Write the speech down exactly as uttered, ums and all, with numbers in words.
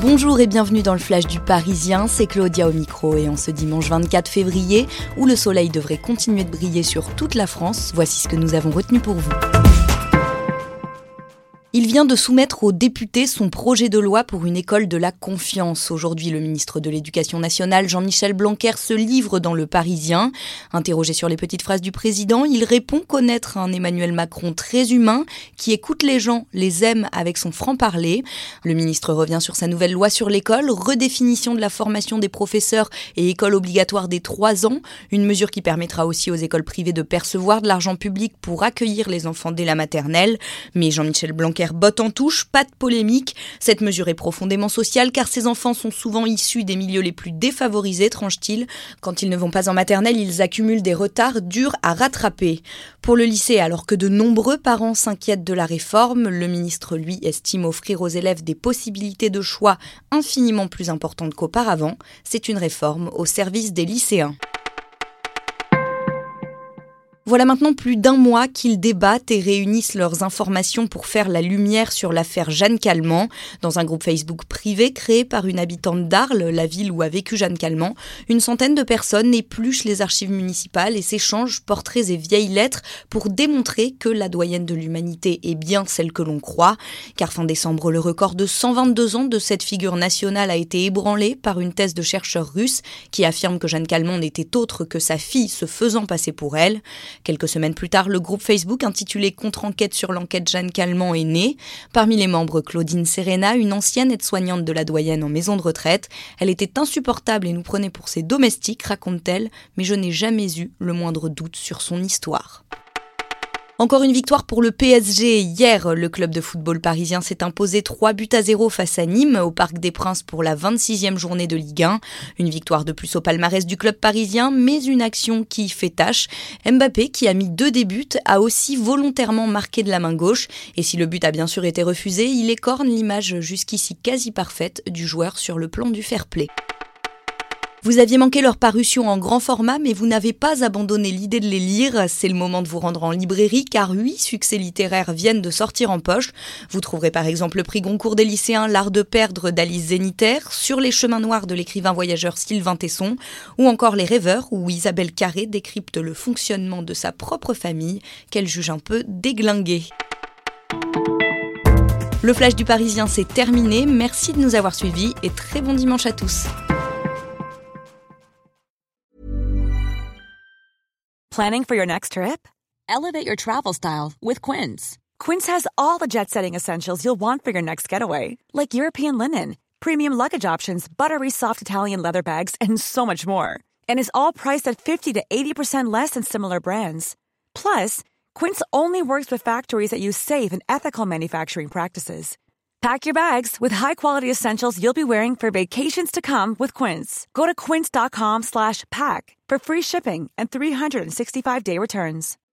Bonjour et bienvenue dans le Flash du Parisien, c'est Claudia au micro et en ce dimanche vingt-quatre février, où le soleil devrait continuer de briller sur toute la France, voici ce que nous avons retenu pour vous. Il vient de soumettre aux députés son projet de loi pour une école de la confiance. Aujourd'hui, le ministre de l'Éducation nationale, Jean-Michel Blanquer, se livre dans Le Parisien. Interrogé sur les petites phrases du président, il répond connaître un Emmanuel Macron très humain, qui écoute les gens, les aime avec son franc-parler. Le ministre revient sur sa nouvelle loi sur l'école, redéfinition de la formation des professeurs et école obligatoire dès trois ans, une mesure qui permettra aussi aux écoles privées de percevoir de l'argent public pour accueillir les enfants dès la maternelle. Mais Jean-Michel Blanquer botte en touche, pas de polémique. Cette mesure est profondément sociale car ces enfants sont souvent issus des milieux les plus défavorisés, tranche-t-il. Quand ils ne vont pas en maternelle, ils accumulent des retards durs à rattraper. Pour le lycée, alors que de nombreux parents s'inquiètent de la réforme, le ministre, lui, estime offrir aux élèves des possibilités de choix infiniment plus importantes qu'auparavant. C'est une réforme au service des lycéens. Voilà maintenant plus d'un mois qu'ils débattent et réunissent leurs informations pour faire la lumière sur l'affaire Jeanne Calment. Dans un groupe Facebook privé créé par une habitante d'Arles, la ville où a vécu Jeanne Calment, une centaine de personnes épluchent les archives municipales et s'échangent portraits et vieilles lettres pour démontrer que la doyenne de l'humanité est bien celle que l'on croit. Car fin décembre, le record de cent vingt-deux ans de cette figure nationale a été ébranlé par une thèse de chercheurs russes qui affirme que Jeanne Calment n'était autre que sa fille se faisant passer pour elle. Quelques semaines plus tard, le groupe Facebook intitulé « Contre-enquête sur l'enquête Jeanne Calment » est né. Parmi les membres, Claudine Serena, une ancienne aide-soignante de la doyenne en maison de retraite. Elle était insupportable et nous prenait pour ses domestiques, raconte-t-elle, mais je n'ai jamais eu le moindre doute sur son histoire. Encore une victoire pour le P S G. Hier, le club de football parisien s'est imposé trois buts à zéro face à Nîmes au Parc des Princes pour la vingt-sixième journée de Ligue un. Une victoire de plus au palmarès du club parisien, mais une action qui fait tâche. Mbappé, qui a mis deux des buts, a aussi volontairement marqué de la main gauche. Et si le but a bien sûr été refusé, il écorne l'image jusqu'ici quasi parfaite du joueur sur le plan du fair-play. Vous aviez manqué leur parution en grand format, mais vous n'avez pas abandonné l'idée de les lire. C'est le moment de vous rendre en librairie, car huit succès littéraires viennent de sortir en poche. Vous trouverez par exemple le prix Goncourt des lycéens, L'art de perdre d'Alice Zénitaire, Sur les chemins noirs de l'écrivain voyageur Sylvain Tesson, ou encore Les rêveurs, où Isabelle Carré décrypte le fonctionnement de sa propre famille, qu'elle juge un peu déglinguée. Le Flash du Parisien, c'est terminé. Merci de nous avoir suivis et très bon dimanche à tous. Planning for your next trip? Elevate your travel style with Quince. Quince has all the jet-setting essentials you'll want for your next getaway, like European linen, premium luggage options, buttery soft Italian leather bags, and so much more. And is all priced at fifty to eighty percent less than similar brands. Plus, Quince only works with factories that use safe and ethical manufacturing practices. Pack your bags with high-quality essentials you'll be wearing for vacations to come with Quince. Go to quince.com slash pack for free shipping and three sixty-five day returns.